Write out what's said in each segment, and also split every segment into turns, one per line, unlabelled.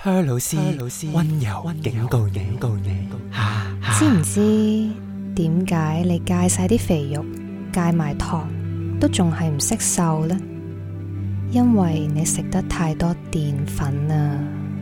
Per 老師溫柔警告你，
知唔知點解你戒晒啲肥肉，戒埋糖，都仲係唔識瘦呢？因為你食得太多澱粉啊！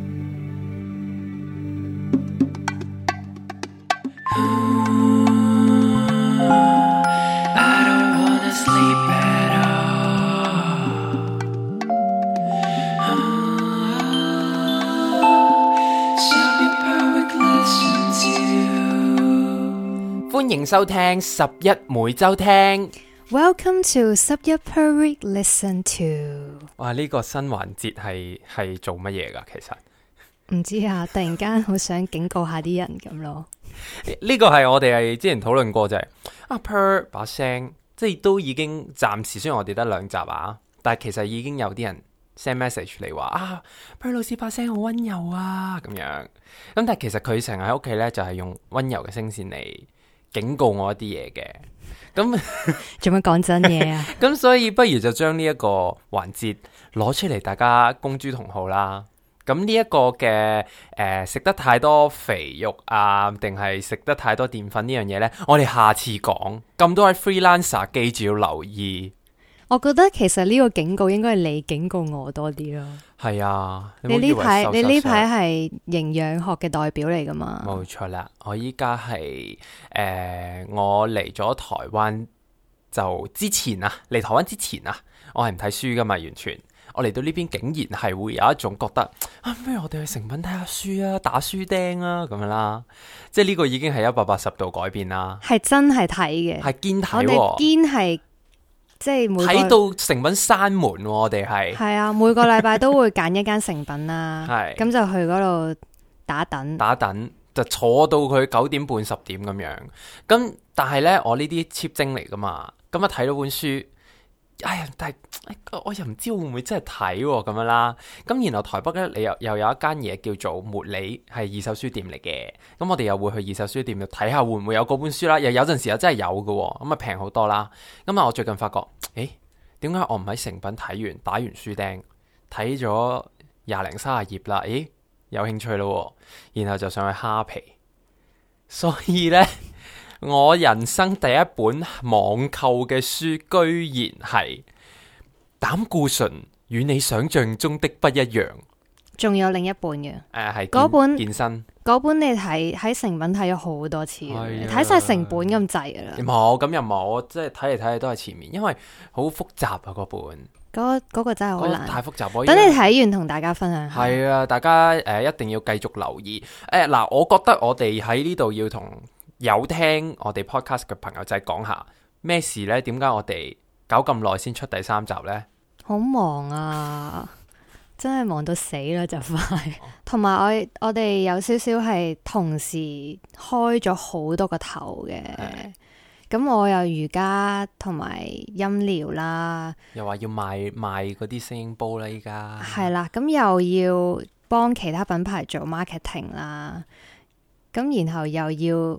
歡迎收聽11每周聽。
Welcome to 11 per week listen to。
哇！呢個新環節係做乜嘢㗎？其實
唔知啊，突然間好想警告下啲人咁咯。
呢個係我哋係之前討論過就係Per 把聲，即係都已經暫時雖然我哋得2集啊，但係其實已經有啲人 send message 嚟話Per 老師把聲好溫柔啊咁樣。咁但係其實佢成日喺屋企咧就係用溫柔嘅聲線嚟警告我一啲嘢嘅。咁
做乜講真嘢啊？
咁所以不如就將呢一個環節攞出嚟，大家公諸同好啦。咁呢一個嘅食得太多肥肉啊，定係食得太多澱粉呢樣嘢呢？我哋下次講。咁多位 freelancer 記住要留意。
我覺得其實呢個警告應該係你警告我多啲咯。
係啊，
你呢排係營養學嘅代表嚟噶嘛？
冇錯啦，我依家係我嚟咗台灣就之前啊，嚟台灣之前啊，我係唔睇書噶嘛，完全。我嚟到呢邊竟然係會有一種覺得不如我哋去誠品睇下書啊，打書釘啊咁樣啦。即係呢個已經係180度改變啦。
係真係睇嘅，
係堅睇，
我哋堅係即係
睇到誠品閂門，我哋係
啊，每個禮拜都會揀一間誠品啦，
係
咁就去嗰度打等，
就坐到佢9點半10點咁樣。咁但係呢，我呢啲 cheap 精嚟噶嘛，咁啊睇到本書。但係我又唔知會唔會真係睇咁樣啦。咁然後台北咧，你又有一間嘢叫做茉莉，係二手書店嚟嘅。咁我哋又會去二手書店度睇下會唔會有嗰本書啦。又有陣時又真係有嘅，咁啊平好多啦。咁啊，我最近發覺，點解我唔喺誠品睇完打完書釘，睇咗20零30頁啦？有興趣咯，然後就上去蝦皮。所以呢。我人生第一本網購嘅書，居然係膽固醇與你想象中的不一樣。仲
有另一本嘅，
係
嗰本
健身
嗰本你睇喺誠品睇咗好多次，睇晒成本咁滯噶啦。
冇咁又冇，即係睇嚟睇去都係前面，因為好複雜啊嗰本。
嗰個真係好難，
太複雜。
等你睇完同大家分享下。
係啊，大家一定要繼續留意。嗱，我覺得我哋喺呢度要同有聽我哋 podcast 嘅朋友仔講下咩事呢？點解我哋搞咁耐先出第3集呢？
好忙啊，真係忙到死啦就快。同埋我哋有少少係同時開咗好多個頭嘅。咁我有瑜伽同埋音療啦，
又話要賣嗰啲聲音煲啦，依家
係啦。咁又要幫其他品牌做 marketing 啦，咁然後又要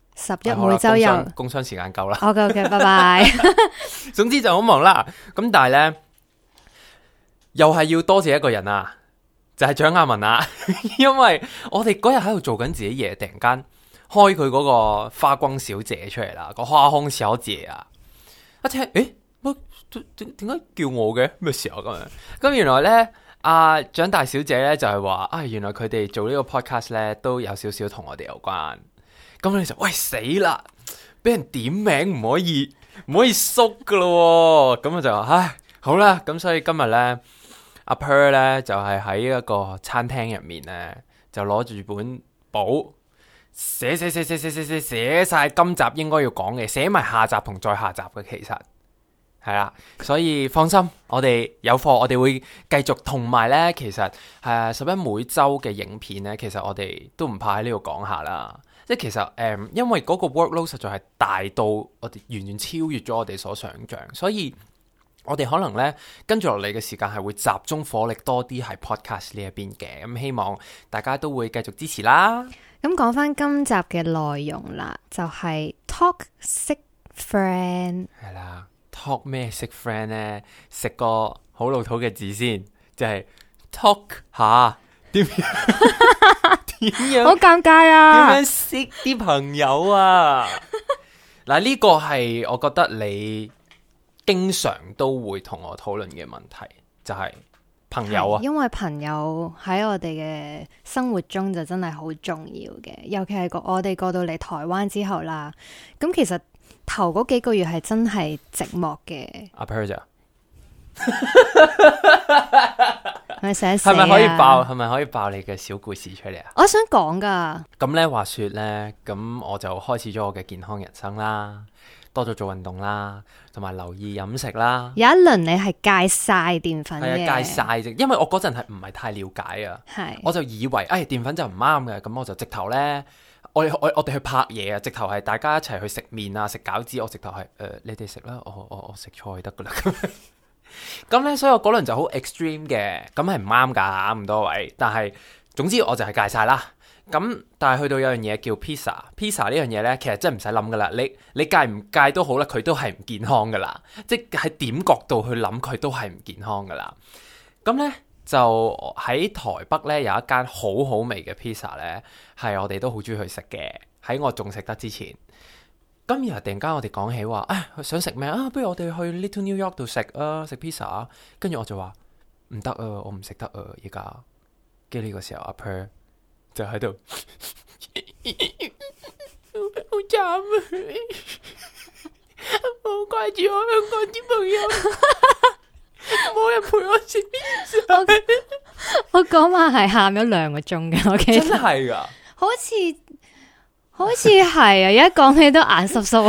11每周又
工商時間夠啦。
OK， 拜拜。
總之就好忙啦。咁但係呢，又係要多謝一個人啊，就係蔣雅文啊。因為我哋嗰日喺度做緊自己嘢，突然間開佢嗰個花光小姐出嚟啦，個花空小姐啊，一聽點解叫我嘅咩時候咁樣？咁原來呢，阿蔣大小姐呢就係話原來佢哋做呢個 podcast 呢都有少少同我哋有關。咁你就喂死啦，俾人點名唔可以縮噶咯。咁我就好啦。咁所以今日呢，阿 Per 呢就係喺一個餐廳入面呢，就攞住本簿寫晒今集應該要講嘅，寫埋下集同再下集嘅。其實係啦，所以放心，我哋有貨，我哋會繼續。同埋呢，其實11每周嘅影片呢，其實我哋都唔怕喺呢度講下啦。即係其實因為嗰個 workload 實在係大到我哋完全超越咗我哋所想像，所以我哋可能呢跟住落嚟嘅時間係會集中火力多啲喺 podcast 呢一邊嘅。咁希望大家都會繼續支持啦。
咁講翻今集嘅內容啦，就係 talk 識 friend。
係啦，talk 咩識 friend 呢？食個好老土嘅字先，就係 talk 下點樣
好尷尬
點
啊！
樣識啲朋友啊？嗱，呢個係我覺得你經常都會同我討論嘅問題，就係朋友啊。
因為朋友喺我哋嘅生活中就真係好重要嘅，尤其係我哋過到嚟台灣之後啦。咁其實頭嗰幾個月係真係寂寞嘅。
阿 Per 姐
係咪寫
係咪可以爆？係咪可以爆你嘅小故事出嚟啊？
我想講噶，
咁咧話說咧，咁我就開始咗我嘅健康人生啦，多咗做運動啦，同埋留意飲食啦。
有一輪你係戒晒澱粉嘅，
係啊，戒晒啫，因為我嗰陣係唔係太了解啊，
係
我就以為澱粉就唔啱嘅，咁我就直頭咧，我哋去拍嘢啊，直頭係大家一齊去食麵啊，食餃子，我直頭係你哋食啦，我食菜得噶啦。咁咧，所以我嗰輪就好 extreme 嘅，咁係唔啱噶咁多位。但係總之我就係戒晒啦。咁但係去到有樣嘢叫 pizza 呢樣嘢咧，其實真係唔使諗噶啦。你戒唔戒都好啦，佢都係唔健康噶啦。即係喺點角度去諗，佢都係唔健康噶啦。咁咧就喺台北咧有一間好好味嘅 pizza 咧，係我哋都好中意去食嘅。喺我仲食得之前。咁然後突然間我哋講起話，想食咩啊？不如我哋去 Little New York 度食啊，食 pizza。跟住我就話唔得啊，我唔食得啊，而家。跟住呢個時候阿 Per 就喺度，好慘啊！我好掛住我香港啲朋友，冇人陪我食 pizza。
我嗰晚係喊咗2個鐘嘅，我記得
真係噶，
好似係啊！而家講起都眼濕濕。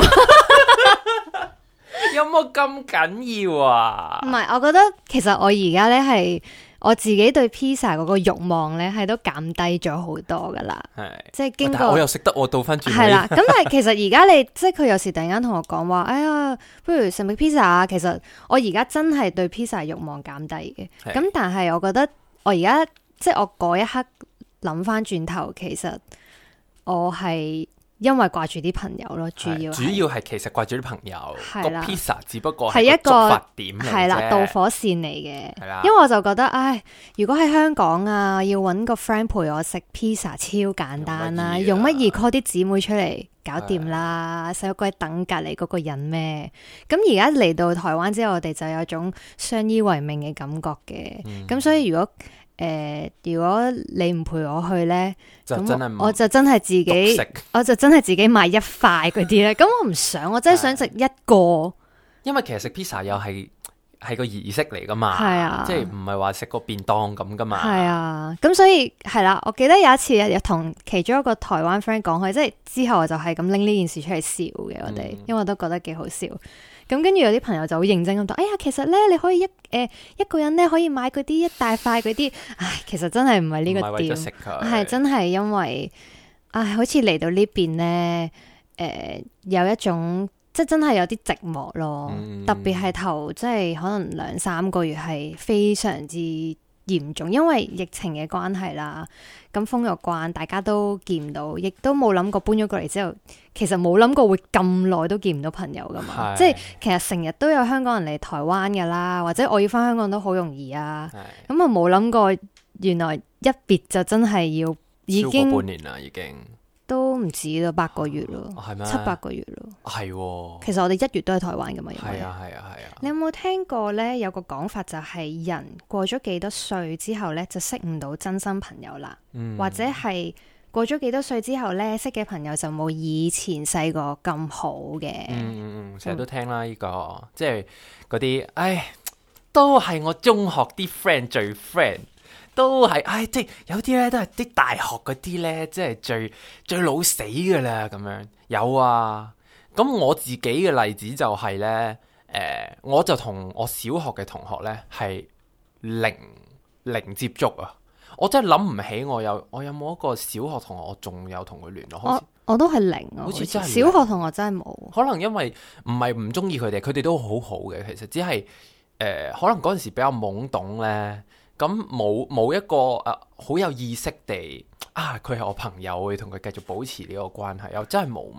有冇咁緊要啊？
唔係，我覺得其實我而家咧係我自己對 pizza 嗰個慾望咧係都減低咗好多噶啦。
係，
即係經過
但我又識得我倒翻轉。
係啦，咁但係其實而家你即係佢有時突然間同我講話，哎呀，不如食唔食 pizza 啊？其實我而家真係對 pizza 慾望減低嘅。咁但係我覺得我而家即係我嗰一刻諗翻轉頭，其實我係因為掛住啲朋友咯，主要
係其實掛住啲朋友，個 pizza 只不過
係一個
觸發點嚟啫，
係啦，導火線嚟嘅。
係啦，
因為我就覺得，唉，如果喺香港啊，要揾個 friend 陪我食 pizza 超簡單啦，用乜嘢 call 啲姊妹出嚟搞掂啦，使鬼等隔離嗰個人咩？咁而家嚟到台灣之後，我哋就有種相依為命嘅感覺嘅。咁所以如果你唔陪我去呢，咁我就真係自己買一塊嗰啲呢。咁我唔想，我真係想食一個。
因為其實食 pizza 又係個儀式嚟噶嘛，
係啊，
即係唔係話食個便當咁噶嘛。
係啊，咁所以係啦，我記得有一次有同其中一個台灣 friend 講開，即係之後我就係咁拎呢件事出嚟笑嘅，我哋，因為我都覺得幾好笑。咁跟住有啲朋友就好認真咁講，哎呀，其實咧你可以一個人咧可以買嗰啲一大塊嗰啲，唉，其實真係唔係呢個點，係真係因為，唉，好似嚟到呢邊咧，有一種即係真係有啲寂寞咯，特別係頭即係可能2-3個月係非常之嚴重，因為疫情嘅關係啦，咁封咗關，大家都見唔到，亦都冇諗過搬咗過嚟之後，其實冇諗過會咁耐都見唔到朋友噶嘛。即係其實成日都有香港人嚟台灣噶啦，或者我要翻香港都好容易啊。咁啊冇諗過，原來一別就真係要已經
超過半年啦，已經
都唔止啦，8個月咯，7-8個月咯。
係，
其實我哋1月都喺台灣噶嘛。
係啊。
你有冇聽過呢？有個講法就係人過咗幾多歲之後呢，就識唔到真心朋友啦，或者係過咗幾多歲之後呢，識嘅朋友就冇以前細個咁好嘅。
成日都聽啦，呢個即係嗰啲，唉，都係我中學啲 friend 最 friend，都係，唉，即係有啲咧都係啲大學嗰啲咧，即係最老死噶啦，咁樣有啊。咁我自己嘅例子就係咧。我就同我小學嘅同學咧係零接觸啊！我真係諗唔起我有冇一個小學同學我仲有同佢聯絡。
我都係零啊，
好似真係
小學同學真係冇。
可能因為唔係唔中意佢哋，佢哋都好好嘅。其實只係可能嗰陣時比較懵懂咧，咁冇一個好有意識地佢係我朋友，會同佢繼續保持呢個關係，又真係冇乜。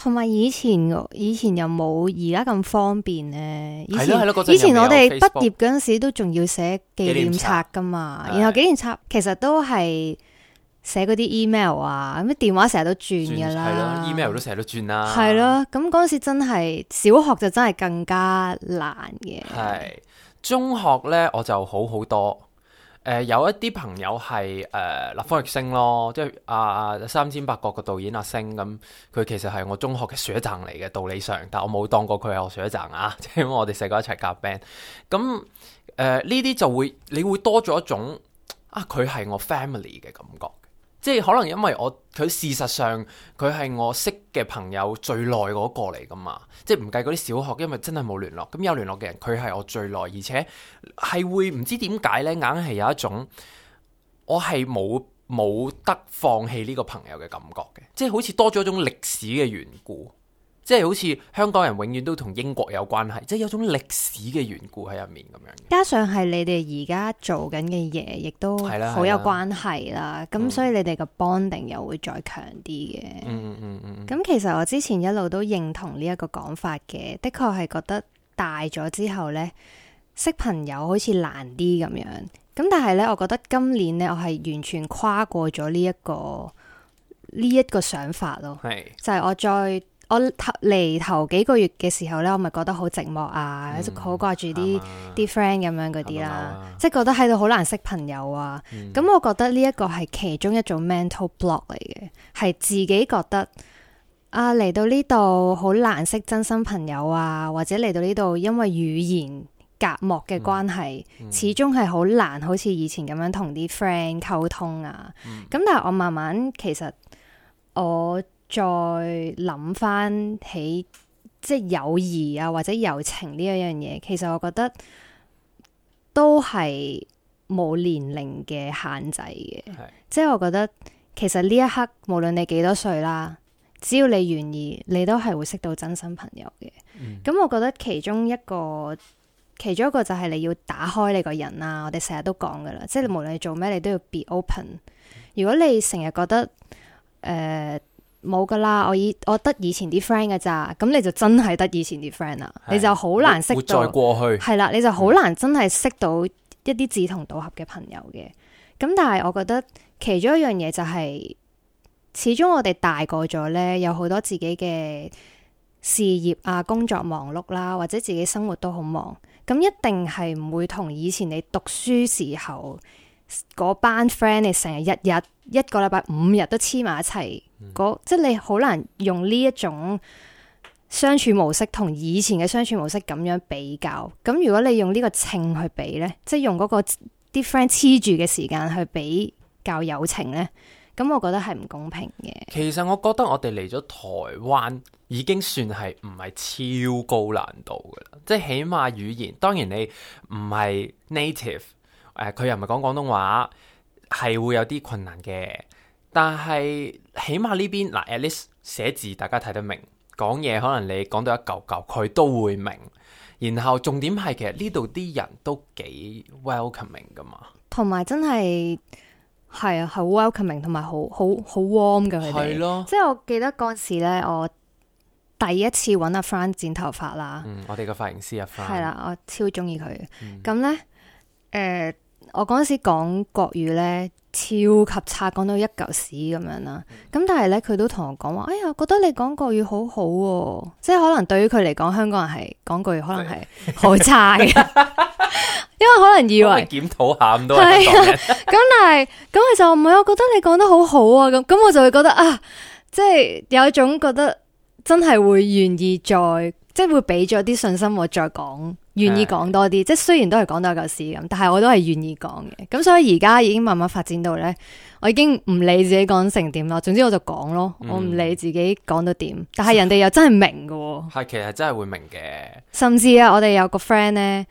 同埋以前又冇而家咁方便咧。以前
係咯，嗰陣
以前我哋
又未有
畢
Facebook
業嗰陣時都仲要寫紀念冊噶嘛，
紀念冊
然後紀念冊其實都係寫嗰啲 email 啊，咁電話成日都轉噶啦，
係咯，email 都成日都轉啦，
係咯。咁嗰陣時真係小學就真係更加難嘅。
係中學咧我就好好多。有一啲朋友係立方力星咯，即係三千八角嘅導演阿星咁，佢其實係我中學嘅學長嚟嘅，道理上，但我冇當過佢係我學長啊，即係因為我哋細個一齊夾 band。咁呢啲就會你會多咗一種佢係我 family 嘅感覺，即係可能因為佢事實上佢係我識嘅朋友最耐嗰個嚟噶嘛，即係唔計嗰啲小學，因為真係冇聯絡，咁有聯絡嘅人佢係我最耐，而且係會唔知點解呢，硬係有一種我係冇得放棄呢個朋友嘅感覺嘅，即係好似多咗一種歷史嘅緣故。即係好似香港人永遠都同英國有關係，即係有種歷史嘅緣故喺入面咁樣。
加上係你哋而家做緊嘅嘢，亦都好有關係啦。咁所以你哋嘅 bonding 又會再強啲嘅。咁其實我之前一路都認同呢一個講法嘅，的確係覺得大咗之後呢，識朋友好似難啲咁樣。咁但係呢，我覺得今年呢，我係完全跨過咗呢一個想法咯。係就係我嚟頭幾個月嘅時候呢，我咪覺得好寂寞啊，好掛住啲 friend 咁樣嗰啲啦，即係覺得喺度好難識朋友啊。咁我覺得呢一個係其中一種 mental block 嚟嘅，係自己覺得嚟到呢度好難識真心朋友啊，或者嚟到呢度因為語言隔膜嘅關係，始終係好難好似以前咁樣同啲 friend 溝通啊。咁但係我慢慢其實我再諗翻起即係友誼啊或者友情呢一樣嘢，其實我覺得都係冇年齡嘅限制嘅。即係我覺得其實呢一刻無論你幾多歲啦，只要你願意，你都係會識到真心朋友嘅。咁我覺得其中一個就係你要打開你個人啦。我哋成日都講噶啦，即係無論你做咩，你都要 be open。如果你成日覺得冇噶啦，我得以前啲 friend 噶咋，咁你就真係得以前啲 friend 啦，你就好難識到
活在過去，
係啦，你就好難真係識到一啲志同道合嘅朋友嘅。咁但係我覺得其中一樣嘢就係，始終我哋大個咗呢，有好多自己嘅事業啊、工作忙碌啦，或者自己生活都好忙，咁一定係唔會同以前你讀書時候嗰班 friend 你成日一個禮拜5日都黐埋一齊，即係你好難用呢一種相處模式同以前嘅相處模式咁樣比較。咁如果你用呢個秤去比呢，即係用嗰個啲 friend 黐住嘅時間去比較友情呢，咁我覺得係唔公平嘅。
其實我覺得我哋嚟咗台灣已經算係唔係超高難度噶啦，即係起碼語言，當然你唔係 native。佢又唔係講廣東話，係會有啲困難嘅。但係起碼呢邊嗱 at least 寫字大家睇得明，講嘢可能你講到一嚿嚿，佢都會明。然後重點係其實呢度啲人都幾 welcoming 噶嘛，
同埋真係係啊，好 welcoming，同埋好 warm 嘅佢哋。係咯，即係我記得嗰時咧，我第一次揾阿 Fran 剪頭髮啦。
我哋嘅髮型師阿 Fran
係啦，我超中意佢。咁咧，我嗰陣時講國語咧超級差，講到一嚿屎咁樣啦。咁但係咧，佢都同我講話，哎呀，覺得你講國語好好喎，即係可能對於佢嚟講，香港人係講國語可能係好差嘅，因為可能以為
檢討下咁多人講嘅。
咁但係咁佢就唔係，我覺得你講得好好啊。咁我就會覺得即係有一種覺得真係會願意再即係會俾咗啲信心我再講。願意講多啲，即係雖然都係講到一嚿屎咁，但係我都係願意講嘅。咁所以而家已經慢慢發展到呢，我已經唔理自己講成點咯，總之我就講咯，我唔理自己講到點。但係人哋又真係明嘅，
係其實真係會明嘅。
甚至我哋有個 friend 呢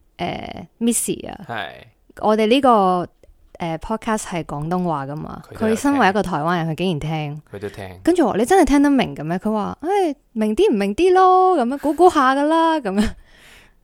，Missy 啊，係我哋呢個podcast 係廣東話噶嘛，佢身為一個台灣人，佢竟然聽，
佢都聽。跟
住我話你真係聽得明嘅咩？佢話明啲唔明啲咯，咁樣估估下噶啦，咁樣。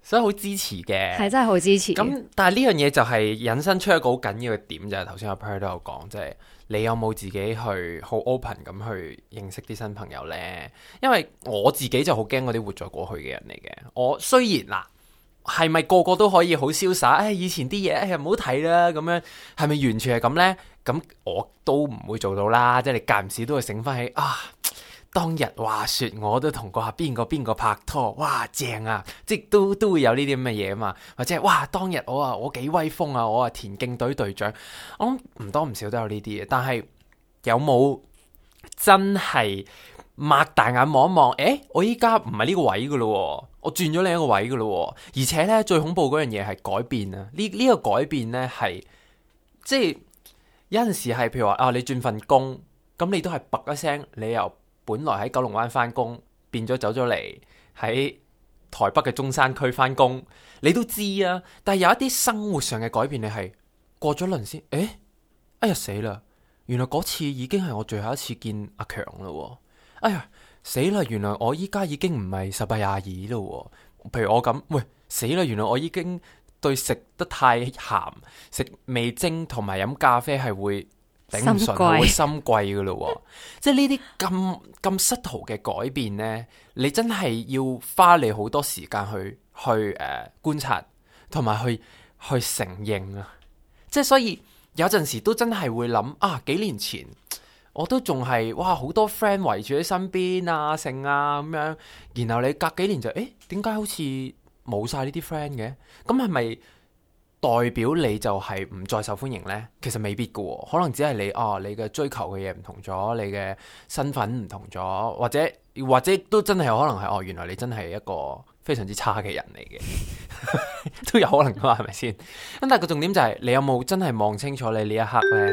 所以好支持嘅，
係真係好支持。
咁但係呢樣嘢就係引申出一個好緊要嘅點，就係頭先阿 Per 都有講，即係你有冇自己去好 open 咁去認識啲新朋友呢？因為我自己就好驚嗰啲活在過去嘅人嚟嘅。我雖然嗱，係咪個個都可以好瀟灑？以前啲嘢唔好睇啦，咁樣係咪完全係咁呢？咁我都唔會做到啦。即係你間唔時都會醒翻起啊！當日話說我都同個邊個拍拖，哇正啊！即係都會有呢啲咁嘅嘢啊嘛，或者係哇當日我幾威風啊，我田徑隊隊長，我諗唔多唔少都有呢啲嘢。但係有冇真係擘大眼望一望？我依家唔係呢個位噶咯，我轉咗另一個位噶咯。而且呢，最恐怖嗰樣嘢係改變啊！呢個改變呢係即係有陣時係譬如話你轉份工，咁你都係噥一聲，你又本來喺九龍灣翻工，變咗走咗嚟喺台北嘅中山區翻工，你都知啊。但係有一啲生活上嘅改變，你係過咗輪先，哎呀死啦！原來嗰次已經係我最後一次見阿強啦。哎呀死啦！原來我依家已經唔係18、22啦。譬如我咁，喂死啦！原來我已經對食得太鹹，食味精同埋飲咖啡係會頂唔順，會心悸噶咯。即係呢啲咁失途嘅改變呢，你真係要花你好多時間去觀察，同埋去承認啊！即係所以有陣時都真係會諗啊，幾年前我都仲係哇好多 friend 圍住喺身邊啊，剩啊咁樣，然後你隔幾年就點解好似冇晒呢啲 friend 嘅？咁係咪代表你就係唔再受歡迎呢？其實未必噶，可能只係你嘅追求嘅嘢唔同咗，你嘅身份唔同咗，或者都真係有可能係原來你真係一個非常之差嘅人嚟嘅，都有可能噶嘛，係咪先？咁但係個重點就係你有冇真係望清楚你呢一刻呢？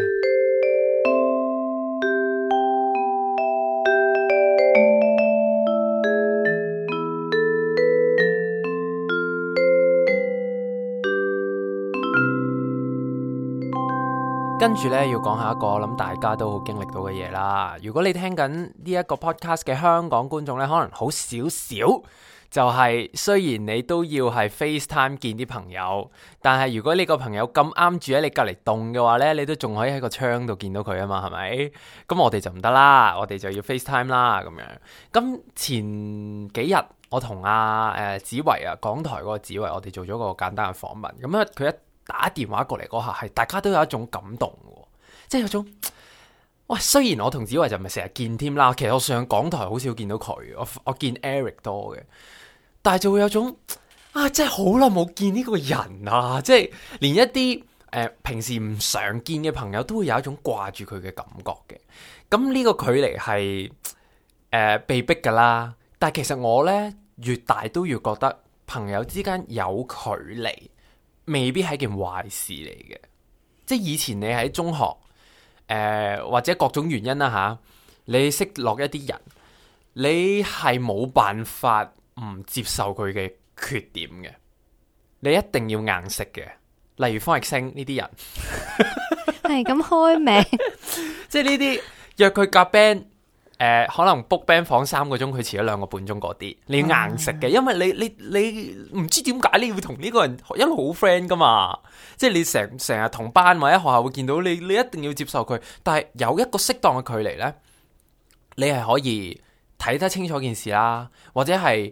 跟住呢，要講下一個我諗大家都好經歷到嘅嘢啦。如果你聽緊呢一個 podcast 嘅香港觀眾呢，可能好少少，就係雖然你都要係 FaceTime 見啲朋友，但係如果你個朋友咁啱住喺你隔離棟嘅話呢，你都仲可以喺個窗度見到佢啊嘛，係咪？咁我哋就唔得啦，我哋就要 FaceTime 啦咁樣。咁前幾日我同子維啊，港台嗰個子維，我哋做咗個簡單嘅訪問。咁啊，佢一打電話過嚟嗰下，係大家都有一種感動嘅，即係有種喂。雖然我同子維就唔係成日見添啦，其實我上港台好少見到佢，我見 Eric 多嘅，但係就會有種真係好耐冇見呢個人啊！即係連一啲平時唔常見嘅朋友都會有一種掛住佢嘅感覺嘅。咁呢個距離係被逼噶啦，但係其實我呢，越大都越覺得朋友之間有距離未必係件壞事嚟嘅。即係以前你喺中學或者各種原因啦吓，你識落一啲人，你係冇辦法唔接受佢嘅缺點嘅，你一定要硬食嘅。例如方力申呢啲人
係咁開名
即係呢啲約佢夾 band，可能 book band 房3個鐘，佢遲咗2個半鐘嗰啲，你要硬食嘅，因為你唔知點解你要同呢個人一路好 friend 噶嘛，即係你成日同班或者學校會見到你一定要接受佢，但係有一個適當嘅距離呢，你係可以睇得清楚件事啦，或者係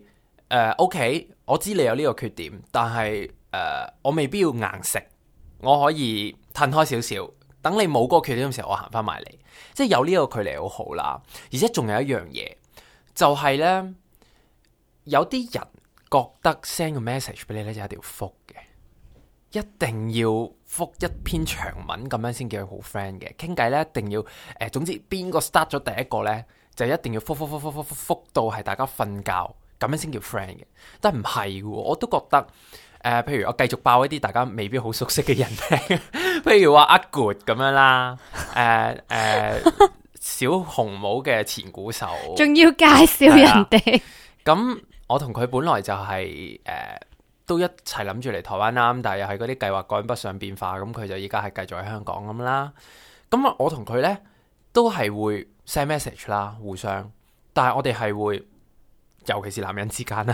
OK， 我知你有呢個缺點，但係我未必要硬食，我可以褪開少少，等你冇嗰個缺點嘅時候，我行翻埋嚟，即係有呢個距離好好啦。而且仲有一樣嘢，就係呢：有啲人覺得 send 個 message 俾你呢，就一定要覆嘅，一定要覆一篇長文咁樣先叫佢好 friend 嘅。傾偈呢，一定要總之邊個 start 咗第一個呢，就一定要覆到係大家瞓覺咁樣先叫 friend 嘅。但唔係嘅，我都覺得譬如我繼續爆一啲大家未必好熟悉嘅人名，譬如話阿 Good 咁樣啦，小紅帽嘅前鼓手，
仲要介紹人哋。
咁我同佢本來就係都一齊諗住嚟台灣啦，但係又係嗰啲計劃趕不上變化，咁佢就依家係繼續喺香港咁啦。咁我同佢呢都係會 send message 啦，互相，但係我哋係會，尤其是男人之間啦，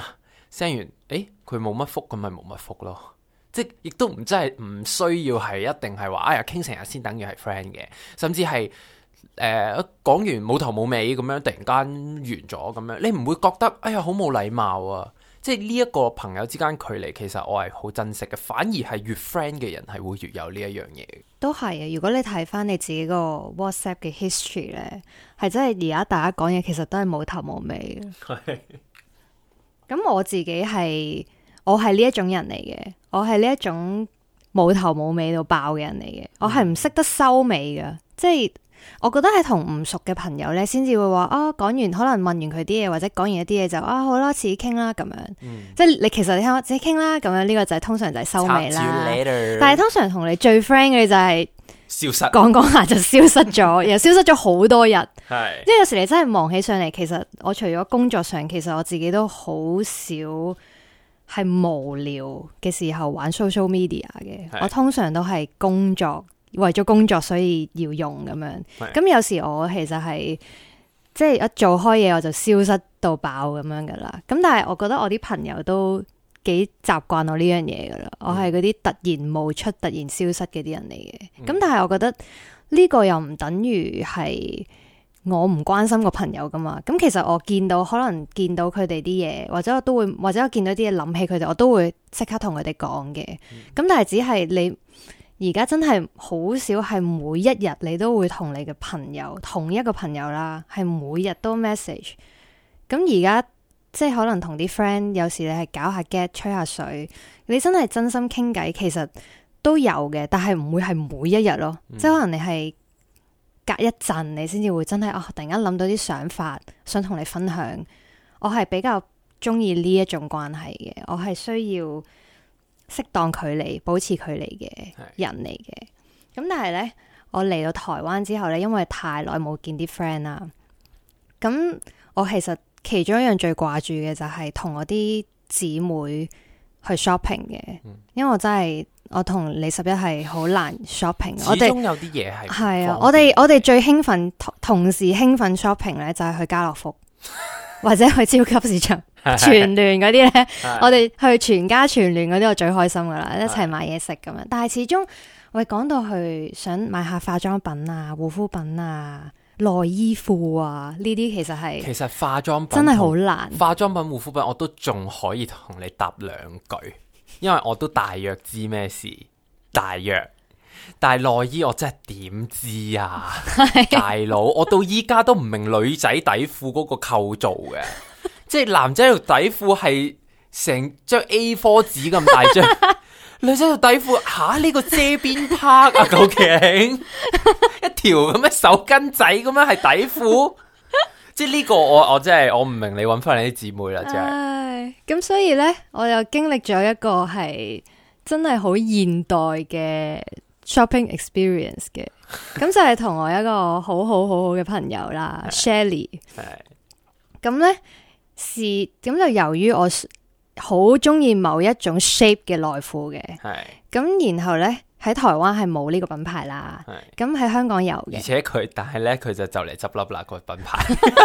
send 完，佢冇乜覆，咁咪冇乜覆咯。即係亦都唔真係唔需要係一定係話哎呀傾成日先等於係 friend 嘅，甚至係講完冇頭冇尾咁樣突然間完咗咁樣，你唔會覺得哎呀好冇禮貌啊！即係呢一個朋友之間距離，其實我係好珍惜嘅，反而係越 friend 嘅人係會越有呢一樣嘢。
都係啊！如果你睇翻你自己個 WhatsApp 嘅 history 咧，係真係而家大家講嘢其實都係冇頭冇尾嘅。咁我自己我係呢一種人嚟嘅，我係呢一種冇頭冇尾到爆嘅人嚟嘅，我係唔識得收尾嘅，即係我覺得係同唔熟嘅朋友咧，先至會話講完可能問完佢啲嘢，或者講完一啲嘢就好啦，遲啲傾啦咁樣，即係你其實你聽我自己傾啦咁樣，呢個就係通常就係收尾啦。但係通常同你最 friend 嘅就係
消失，
講下就消失咗，又消失咗好多日。
係，
因為有時你真係忙起上嚟，其實我除咗工作上，其實我自己都好少係無聊嘅時候玩 social media 嘅。我通常都係工作，為咗工作所以要用咁樣。咁有時我其實係即係一做開嘢我就消失到爆咁樣噶啦。咁但係我覺得我啲朋友都幾習慣我呢樣嘢噶啦。我係嗰啲突然冒出、突然消失嘅啲人嚟嘅。咁但係我覺得呢個又唔等於係我唔關心個朋友噶嘛。咁其實我可能見到佢哋啲嘢，或者我見到啲嘢諗起佢哋，我都會即刻同佢哋講嘅。咁但係只係你而家真係好少係每一日你都會同你嘅朋友，同一個朋友啦，係每日都 message。咁而家即係可能同啲 friend 有時你係搞下 get 吹下水，你真係真心傾偈，其實都有嘅，但係唔會係每一日咯。即係可能你係隔一陣你先至會真係突然間諗到啲想法想同你分享。我係比較中意呢一種關係嘅，我係需要適當距離保持距離嘅人嚟嘅。咁但係呢，我嚟到台灣之後呢，因為太耐冇見啲 friend 啦，咁我其中一樣最掛住嘅就係同我啲姊妹去 shopping 嘅。因為我同李十一係好難 shopping。
始終有啲嘢係
啊，我哋最興奮同時興奮 shopping 呢，就係去家樂福或者去超級市場全聯嗰啲呢。我哋去全家全聯嗰啲我最開心噶啦，一齊買嘢食咁樣。但係始終我哋講到去想買下化妝品啊、護膚品啊、內衣褲啊呢啲，其實
化妝品
真係好難。
化妝品、護膚品我都仲可以同你答兩句，因為我都大約知咩事，大約。但係內衣我真係點知啊，大佬！我到依家都唔明女仔底褲嗰個構造嘅，即係男仔條底褲係成張 A4 紙咁大張，女仔條底褲呢個遮邊 part 啊，究竟一條咁嘅手巾仔咁樣係底褲？即係呢個我真係我唔明，你揾翻你啲姊妹啦，真係。
咁所以呢，我又經歷咗一個係真係好現代嘅shopping experience 嘅。咁就係同我一個好好嘅朋友啦，Shelly。咁呢，咁就由於我好中意某一種 shape 嘅內褲嘅，咁然後呢，喺台灣係冇呢個品牌啦，咁喺香港有嘅，
而且但係呢，佢就嚟執笠啦個品牌。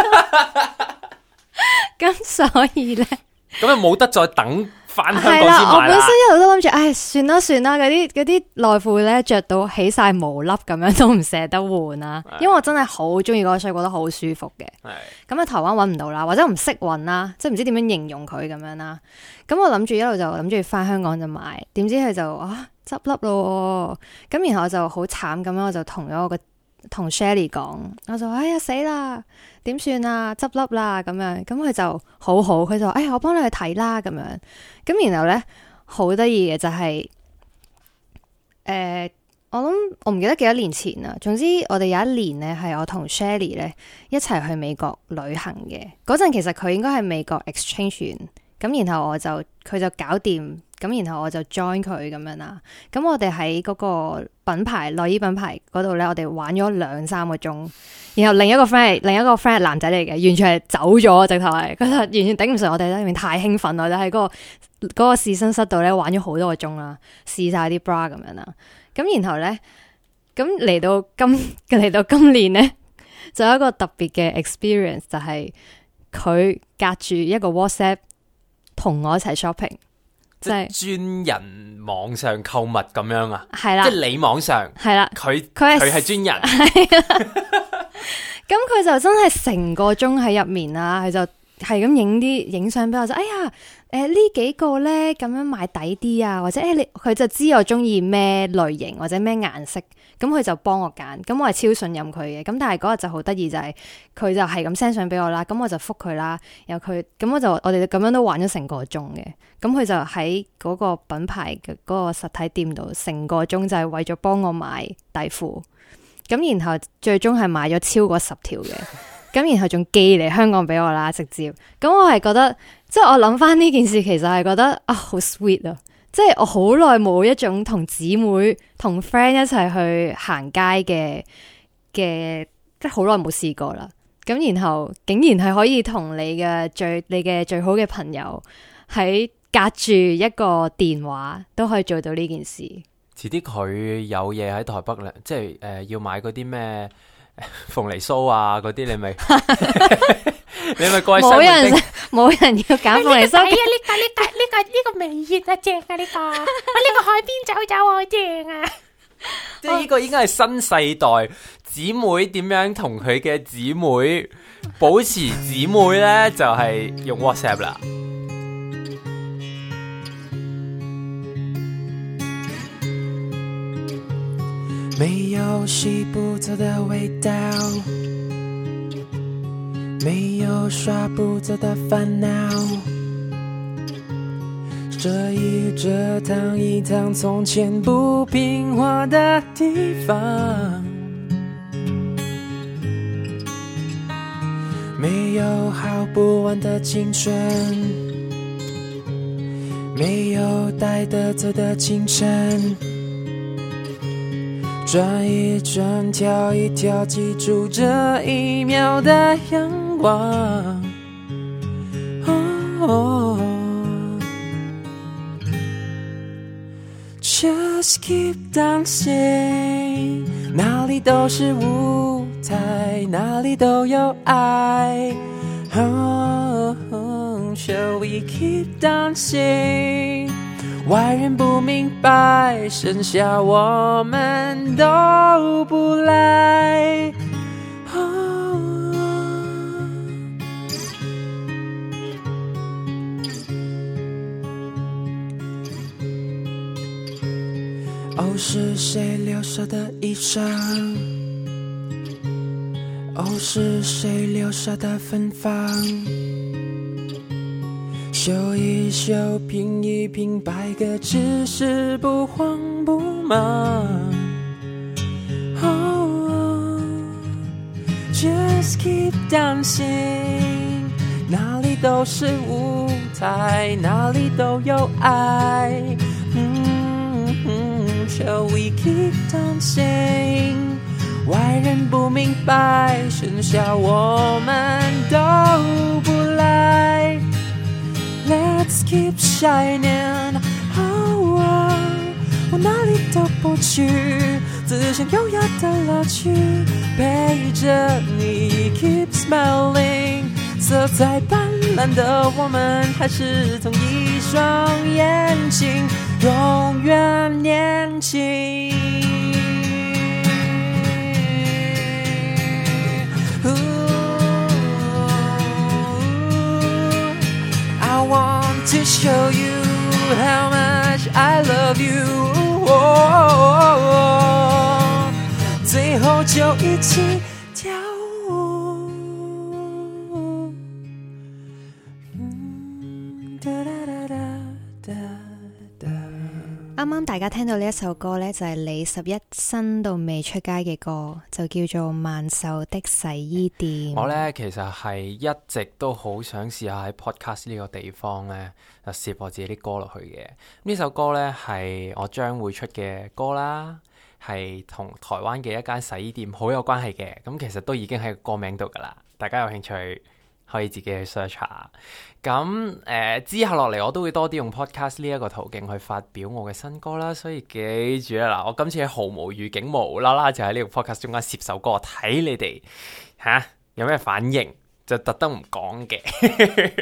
咁所以呢，
咁就冇得再等翻香港先買啦。
我本身一路都諗住，算啦，嗰啲內褲咧着到起晒毛粒咁樣都唔捨得換啦，因為我真係好中意嗰個，所以覺得好舒服嘅。咁喺台灣揾唔到啦，或者唔識揾啦，即係唔知點樣形容佢咁樣啦。咁我諗住一路就諗住翻香港就買，點知佢就執笠咯。咁然後我就好慘咁樣，我就同 Shelly 講，我就哎呀死啦，點算啊，執笠啦咁樣。咁佢就好好，佢就我幫你去睇啦咁樣。咁然後呢，好得意嘅就係我諗我唔記得幾多年前啦。總之我哋有一年呢，係我同 Shelly 呢一齊去美國旅行嘅。嗰陣其實佢應該係美國 exchange 完，咁然後佢就搞掂，咁然後我就 join 佢咁樣啦。咁我哋喺嗰個內衣品牌嗰度呢，我哋玩咗2-3個鐘。然後另一個 friend 係男仔嚟嘅，完全係走咗，直頭係佢就完全頂唔順我哋，因為太興奮啦，就喺嗰個試身室度呢玩咗好多個鐘啦，試晒啲 bra 咁樣啦。咁然後呢，咁嚟到今年呢，就有一個特別嘅 experience，就係佢隔住一個 WhatsApp 同我一齊 shopping，
即係專人網上購物咁樣啊？
係啦，
即係你網上
係啦，
佢
係
係專人，
咁佢就真係成個鐘喺入面啦，佢就係咁影相俾我，就哎呀，呢幾個咧咁樣買抵啲啊，或者佢就知我中意咩類型或者咩顏色，咁佢就幫我揀，咁我係超信任佢嘅。咁但係嗰日就好得意就係佢就係咁 send 相俾我啦，咁我就覆佢啦，然後我哋咁樣都玩咗成個鐘嘅，咁佢就喺嗰個品牌嘅嗰個實體店度成個鐘就係為咗幫我買底褲，咁然後最終係買咗超過10條嘅。咁然後仲寄嚟香港俾我啦，直接。咁我係覺得，即係我諗翻呢件事，其實係覺得啊，好 sweet 啊！即係我好耐冇一種同姊妹、同 friend 一齊去行街嘅，即係好耐冇試過啦。咁然後竟然係可以同你嘅最好嘅朋友喺隔住一個電話都可以做到呢件事。
遲啲佢有嘢喺台北咧，即係要買嗰啲咩？鳳梨酥啊，嗰啲你咪你咪過去
冇人要揀鳳梨酥。
呢個微熱啊，正啊呢個，呢個海邊走走啊，正啊！
即係呢個應該係新世代姊妹點樣同佢嘅姊妹保持姊妹咧，就係用 WhatsApp 啦。
沒有洗不走的味道，沒有刷不走的煩惱，這一趟一趟從前不平滑的地方，沒有好不完的青春，沒有帶得走的清晨，轉一轉，跳一跳，記住這一秒的陽光。Just keep dancing， 哪裡都是舞台，哪裡都有愛。Shall we keep dancing？外人不明白，剩下我們都不來。哦，是誰留下的衣裳？哦，是誰留下的芬芳？修一修，拼一拼，百個只是不慌不忙。Just keep dancing， 哪裡都是舞台，哪裡都有愛。Shall we keep dancing？ 外人不明白，剩下我們都不來。Let's keep shining， 我哪裡都不去，只想優雅的樂趣，陪着你 keep smiling， 色彩斑斕的我們還是同一雙眼睛，永遠年輕。I want to show you how much I love you， 最後就一起跳舞。
啱啱大家聽到呢一首歌呢，就係李十一新到未出街嘅歌，就叫做《萬壽的洗衣店》。
我呢，其實係一直都好想試下喺 podcast 呢個地方呢，就攝我自己啲歌落去嘅。呢首歌呢，係我將會出嘅歌啦，係同台灣嘅一間洗衣店好有關係嘅。咁其實都已經喺個歌名度噶啦，大家有興趣可以自己去 search 下。咁之後落嚟我都會多啲用 podcast 呢一個途徑去發表我嘅新歌啦，所以記住啦，嗱，我今次係毫無預警無啦啦就喺呢個 podcast 中間攝首歌，睇你哋有咩反應，就特登唔講嘅。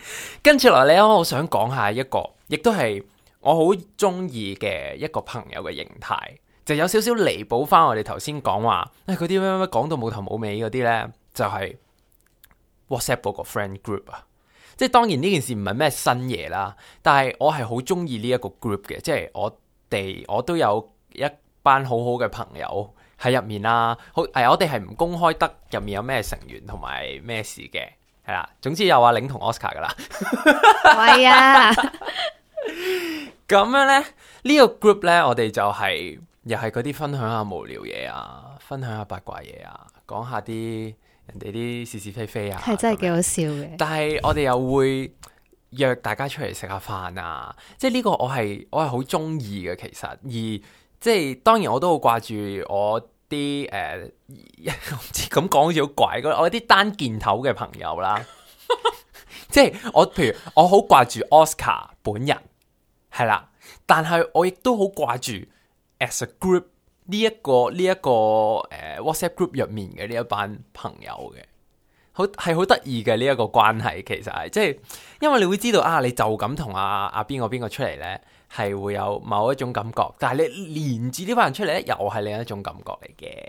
跟住落嚟咧，我想講下一個，亦都係我好中意嘅一個朋友嘅形態，就有少少彌補翻我哋頭先講話，嗰啲咩講到冇頭冇尾嗰啲咧，就係 WhatsApp 嗰個 friend group 啊。即係當然呢件事唔係咩新嘢啦，但係我係好中意呢一個 group 嘅，即係我都有一班好好嘅朋友喺入面啦。我哋係唔公開得入面有咩成員同埋咩事嘅，係啦。總之有阿玲同 Oscar 噶啦。
係啊，
咁樣咧，呢個 group 咧，我哋就又係嗰啲分享下無聊嘢啊，分享下八卦嘢啊，講下啲人哋啲是是非非啊，
係真係幾好笑嘅。
但係我哋又會約大家出嚟食下飯啊，即係呢個我係好中意嘅其實，而即係當然我都好掛住我啲唔知咁講好似好怪，我啲單件頭嘅朋友啦，即係譬如我好掛住 Oscar 本人係啦，但係我亦都好掛住 as a group 呢一個WhatsApp group 入面嘅呢一班朋友嘅。係好得意嘅呢一個關係，其實係即係，因為你會知道啊，你就咁同阿邊個出嚟呢，係會有某一種感覺，但係你連住呢班人出嚟呢，又係另一種感覺嚟嘅。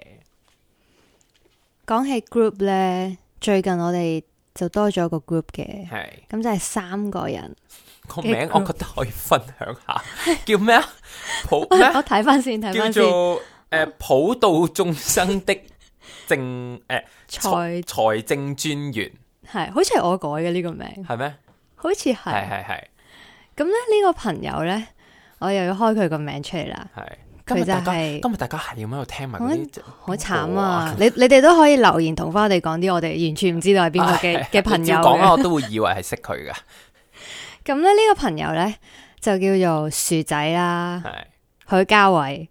講起 group 呢，最近我哋就多咗個 group 嘅，
係
咁就係3個人
個名，我覺得可以分享下，叫咩啊？
我睇翻先，
叫做普度眾生的財政專員，
係好似係我改嘅呢個名，
係咩？
好似係。咁咧呢個朋友咧，我又要開佢個名出嚟啦。係佢就係
今日大家係咁喺度聽埋嗰啲，
好慘啊！你哋都可以留言同翻我哋講啲我哋完全唔知道係邊個嘅朋友。
講我都會以為係識佢噶。
咁咧呢個朋友咧就叫做薯仔啦，許家偉。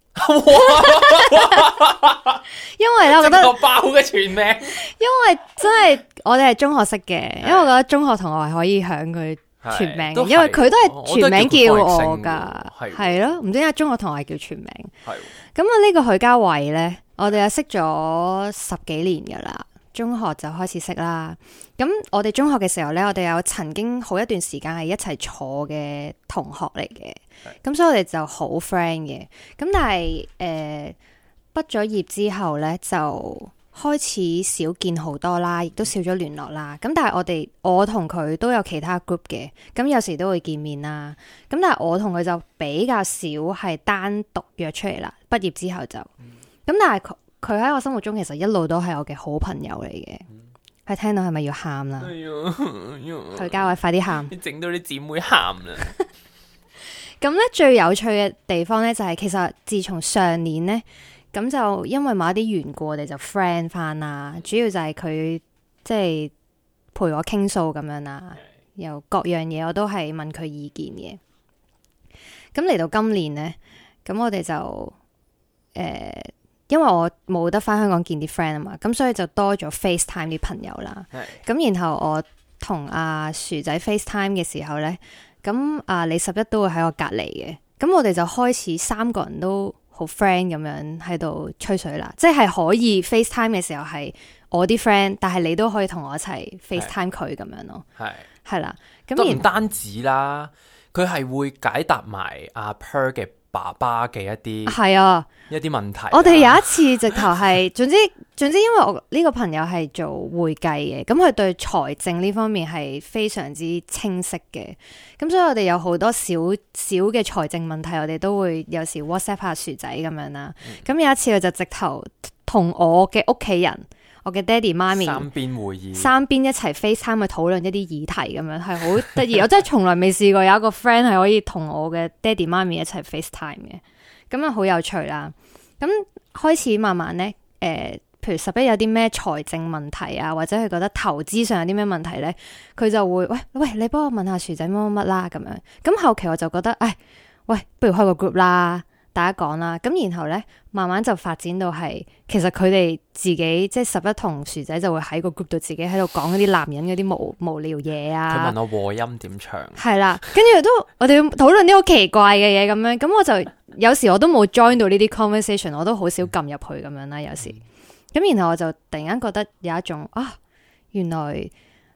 因為咧，我覺得
爆嘅全名，
因為真係我哋係中學識嘅，因為我覺得中學同學係可以響佢全名嘅，因為佢都係全名叫我噶，係咯，唔知點解中學同學係叫全名。係咁啊，呢個許家偉咧，我哋又識咗10幾年噶啦，中學就開始識啦。咁我哋中學嘅時候咧，我哋有曾經好一段時間係一齊坐嘅同學嚟嘅，咁所以我哋就好 friend 嘅。咁但係畢咗業之後咧，就開始少見好多啦，亦都少咗聯絡啦。咁但係我同佢都有其他 group 嘅，咁有時都會見面啦。咁但係我同佢就比較少係單獨約出嚟啦。畢業之後就咁，但係佢喺我心目中其實一路都係我嘅好朋友嚟嘅。係聽到係咪要喊啦？許家偉快啲喊！
你整到啲姊妹喊啦！
咁咧最有趣嘅地方咧就係，其實自從上年咧，咁就因為某一啲緣故，我哋就 friend 翻啦。主要就係佢即係陪我傾訴咁樣啦，又各樣嘢我都係問佢意見嘅。咁嚟到今年咧，咁我哋就因為我冇得翻香港見啲 friend 啊嘛，咁所以就多咗 FaceTime 啲朋友啦。咁然後我同阿薯仔 FaceTime 嘅時候咧，咁李11都會喺我隔離嘅，咁我哋就開始3個人都好 friend 咁樣喺度吹水啦，即係可以 FaceTime 嘅時候係我啲 friend， 但係你都可以同我一齊 FaceTime 佢咁樣咯。係啦，咁
都唔單止啦，佢係會解答埋阿 Per 嘅爸爸嘅一啲一啲問題。我哋
有一次直頭係，總之，因為我呢個朋友係做會計嘅，咁佢對財政呢方面係非常之清晰嘅，咁所以我哋有好多小嘅財政問題，我哋都會有時 WhatsApp 下薯仔咁樣啦。咁有一次佢就直頭同我嘅屋企人，我嘅爹哋媽咪
三邊會議，
三邊一齊 FaceTime 去討論一啲議題咁樣，係好得意。我真係從來未試過有一個 friend 係可以同我嘅爹哋媽咪一齊 FaceTime 嘅，咁啊好有趣啦。咁開始慢慢咧，譬如11有啲咩財政問題啊，或者佢覺得投資上有啲咩問題咧，佢就會喂，你幫我問下薯仔乜乜啦咁樣。咁後期我就覺得，喂，不如開個 group 啦。大家講啦，咁然後咧，慢慢就發展到係，其實佢哋自己即係11同薯仔就會喺個 group 度自己喺度講嗰啲男人嗰啲無聊嘢啊。
佢問我和音點唱，
係啦，跟住都我哋討論啲好奇怪嘅嘢咁樣，咁我就有時我都冇 join 到呢啲 conversation， 我都好少撳入去咁樣啦，有時。咁然後我就突然間覺得有一種原來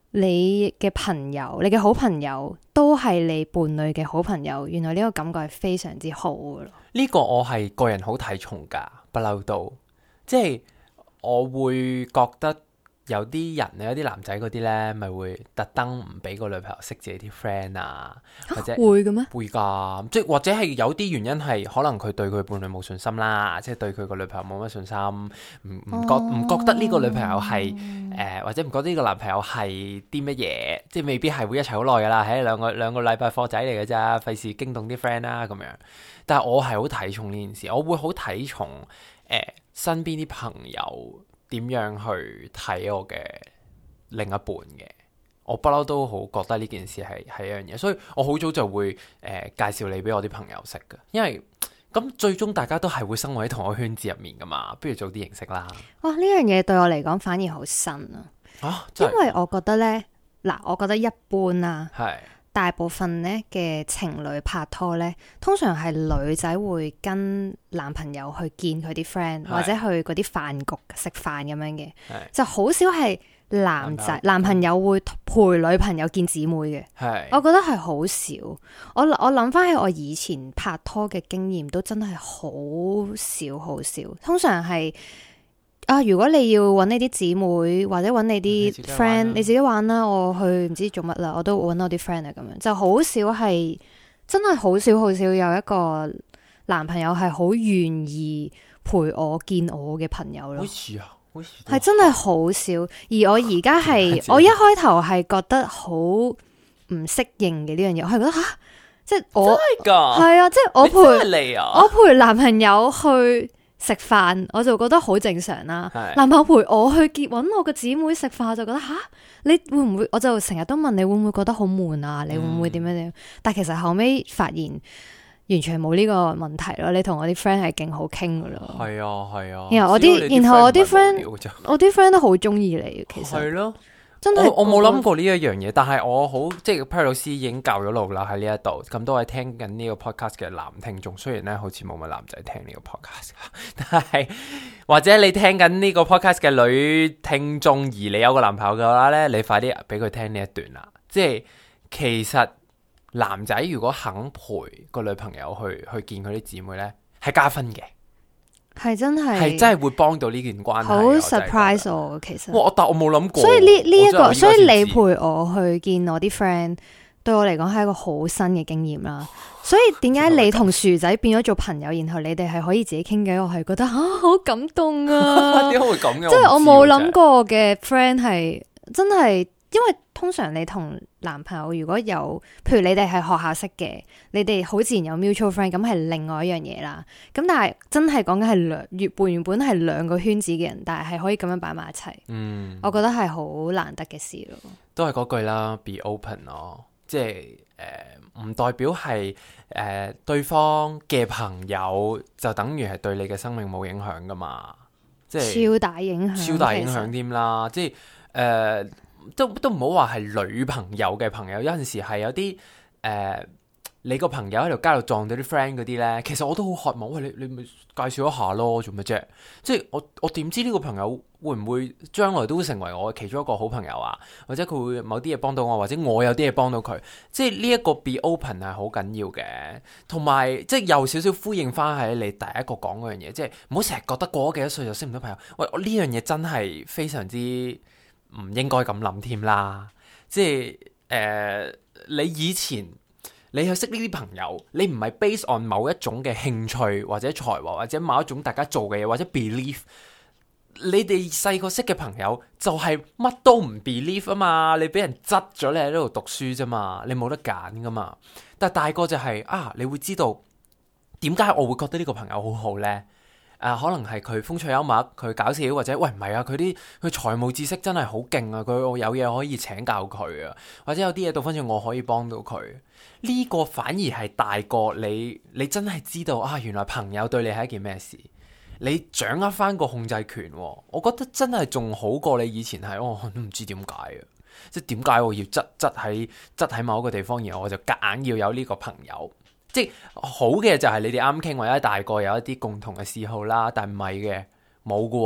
你嘅朋友，你嘅好朋友都係你伴侶嘅好朋友，原來呢個感覺係非常之好嘅咯。
呢個我係個人好睇重噶，不嬲都，即係我會覺得有啲人有啲男仔嗰啲咧，咪會特登唔俾個女朋友識自己啲 friend 啊，或者
會嘅咩？
會噶，即係或者係有啲原因係可能佢對佢伴侶冇信心啦，即係對佢個女朋友冇乜信心，唔覺得呢個女朋友係或者唔覺得呢個男朋友係啲乜嘢，即係未必係會一齊好耐噶啦，喺兩個禮拜貨仔嚟嘅咋，費事驚動啲 friend 啦咁樣。但係我係好睇重呢件事，我會好睇重身邊啲朋友點樣去睇我嘅另一半嘅。我不嬲都好覺得呢件事係一樣嘢，所以我好早就會介紹你俾我啲朋友識嘅，因為咁最終大家都係會生活喺同一個圈子入面噶嘛，不如早啲認識啦。
哇！呢樣嘢對我嚟講反而好新啊，因為我覺得呢，嗱，我覺得一般啦，
係
大部分呢嘅情侶拍拖呢，通常係女仔會跟男朋友去見佢啲 friend，或者去嗰啲飯局食飯咁樣嘅，就好少係男朋友會陪女朋友見姊妹嘅。我覺得係好少。我諗翻起我以前拍拖嘅經驗，都真係好少好少。通常係如果你要揾你啲姊妹或者揾你啲 friend，你自己玩啦。我去唔知做乜啦，我都揾我啲 friend 啊，咁樣就好少係真係好少有一個男朋友係好願意陪我見我嘅朋友咯。
好似啊，
係真係好少。而我而家係我一開頭係覺得好唔適應嘅呢樣嘢，我係覺得即係我
真係㗎，
係啊，即係我陪男朋友去食飯，我就覺得好正常啦。男朋友陪我去揾我個姊妹食飯，我就覺得你會唔會？我就成日都問你會唔會覺得好悶啊？你會唔會點樣？但其實後尾發現完全冇呢個問題咯。你同我啲 friend 係勁好傾噶咯。
係啊。
然後我啲 friend 都好中意你，其實
係咯。
真係
我冇諗過呢一樣嘢，但係我好即係 Perry 老師已經教咗路啦，喺呢一度咁多位聽緊呢個 podcast 嘅男聽眾，雖然咧好似冇乜男仔聽呢個 podcast， 但係或者你聽緊呢個 podcast 嘅女聽眾，而你有個男朋友嘅話咧，你快啲俾佢聽呢一段啦。即係其實男仔如果肯陪個女朋友去見佢啲姊妹咧，係加分嘅。
係真
係會幫到呢件關係，
好 surprise 我其實。
但我冇諗過。
所以呢一個，所以你陪我去見我啲 friend，對我嚟講係一個好新嘅經驗啦。所以點解你同薯仔變咗做朋友，然後你哋係可以自己傾偈，我係覺得好感動啊！
點解會咁嘅？
即係我冇諗過嘅 friend 係真係，因為通常你同男朋友如果有，譬如你哋係學校識嘅，你哋好自然有 mutual friend，咁係另外一樣嘢啦。咁但係真係講緊係原本係兩個圈子嘅人，但係可以咁樣擺埋一齊。我覺得係好難得嘅事咯。
都係嗰句啦 ，be open 咯，即係唔代表係對方嘅朋友就等於係對你嘅生命冇影響噶嘛，即係
超大影響
添啦，即係都唔好話係女朋友嘅朋友，有陣時係有啲你個朋友喺條街度撞到啲 friend 嗰啲咧，其實我都好渴望，喂，你咪介紹一下咯，做乜啫？即係我點知呢個朋友會唔會將來都會成為我其中一個好朋友啊？或者佢會某啲嘢幫到我，或者我有啲嘢幫到佢，即係呢一個 be open 係好緊要嘅，同埋即係有少少呼應翻喺你第一個講嗰樣嘢，即係唔好成日覺得過咗幾多歲就識唔到朋友。喂，我呢樣嘢真係非常之唔應該咁諗添啦，即係你以前你去識呢啲朋友，你唔係 base on 某一種嘅興趣或者才華或者某一種大家做嘅嘢或者 belief， 你哋細個識嘅朋友就係乜都唔 believe 啊嘛，你俾人執咗你喺呢度讀書啫嘛，你冇得揀噶嘛。但係大個就係你會知道點解我會覺得呢個朋友好好呢？可能係佢風趣幽默，佢搞笑，或者喂唔係啊，佢財務知識真係好勁啊，我有嘢可以請教佢啊，或者有啲嘢倒翻轉我可以幫到佢。呢個反而係大個你真係知道原來朋友對你係一件咩事，你掌握翻個控制權，我覺得真係仲好過你以前係我都唔知點解啊，即係點解我要執喺某一個地方，然後我就夾硬要有呢個朋友。即係好嘅就係你哋啱傾，或者大個有一啲共同嘅嗜好啦，但唔係嘅冇嘅，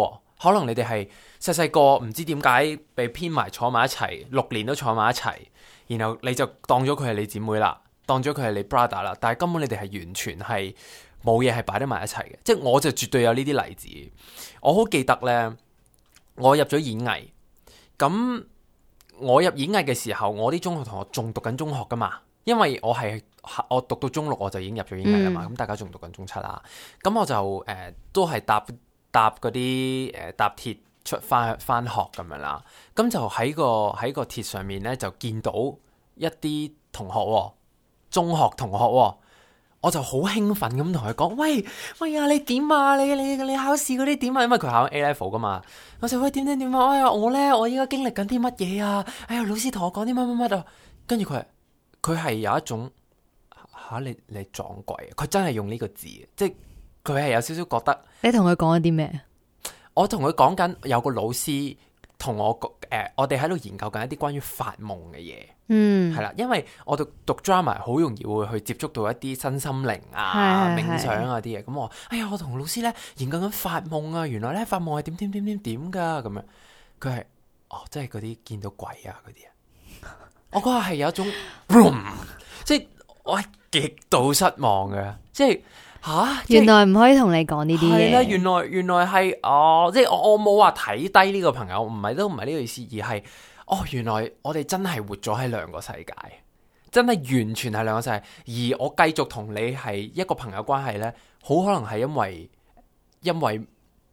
可能你哋係細細個唔知點解被編埋坐埋一齊，6年都坐埋一齊，然後你就當咗佢係你姊妹啦，當咗佢係你 brother 啦，但係根本你哋係完全係冇嘢係擺得埋一齊嘅。即係我就絕對有呢啲例子。我好記得呢，我入咗演藝，咁我入演藝嘅時候，我啲中學同學仲讀緊中學噶嘛，因為我讀到中6我就已經入咗演藝啦嘛，咁大家仲讀緊中7啦，咁我就都係搭嗰啲搭鐵出翻學咁樣啦，咁就喺個鐵上面咧就見到一啲同學，中學同學，我就好興奮咁同佢講：喂啊，你點啊？你考試嗰啲點啊？因為佢考 A level 噶嘛，我就喂點啊？哎呀，我依家經歷緊啲乜嘢啊？哎呀，老師同我講啲乜啊？跟住佢係有一種你撞鬼，佢真係用呢個字，即係佢係有少少覺得。
你同佢講咗啲咩？
我同佢講緊有個老師同我我哋喺度研究緊一啲關於發夢嘅嘢，係啦，因為我讀 drama 好容易會去接觸到一啲身心靈啊、冥想啊啲嘢，咁我我同老師咧研究緊發夢啊，原來咧發夢係點噶咁樣，佢係即係嗰啲見到鬼啊嗰啲啊，我嗰下係有一種，即係我係極度失望嘅，即係。
原來唔可以同你講呢啲嘢。
係啦，原來係即係我冇話睇低呢個朋友，唔係呢個意思，而係原來我哋真係活咗喺兩個世界，真係完全係兩個世界。而我繼續同你係一個朋友關係呢，好可能係因為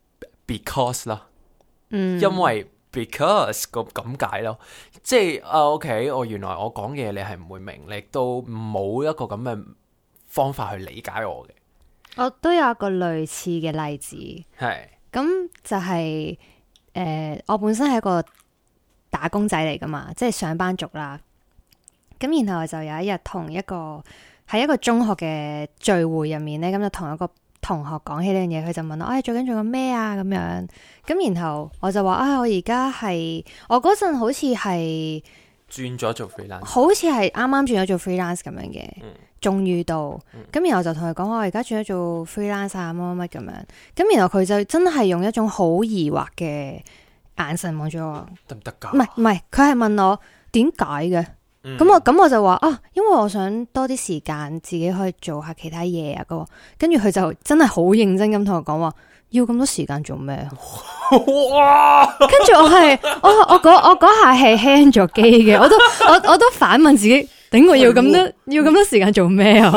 because 啦，因為 because 咁解咯，即係OK，原來我講嘅嘢你係唔會明，你亦都冇一個咁嘅方法去理解我嘅。
我都有一個類似嘅例子，
係
咁就係我本身係一個打工仔嚟噶嘛，即係上班族啦。咁然後就有一日同喺一個中學嘅聚會入面咧，咁就同一個同學講起呢樣嘢，佢就問我：最近做緊咩啊？咁樣咁，然後我就話：我而家我嗰陣好似係
轉咗做 freelance，
好似係啱啱轉咗做 freelance 咁樣嘅。終於到，咁然後就同佢講我而家轉咗做 freelance 啊，乜咁樣，咁然後佢就真係用一種好疑惑嘅眼神望住我，
得唔得噶？
唔係，佢係問我點解嘅，咁我就話因為我想多啲時間自己可以做下其他嘢啊，跟住佢就真係好認真咁同我講話，要咁多時間做咩啊？哇！跟住我嗰下係輕咗機嘅，我都反問自己。頂我要咁多時間做咩啊？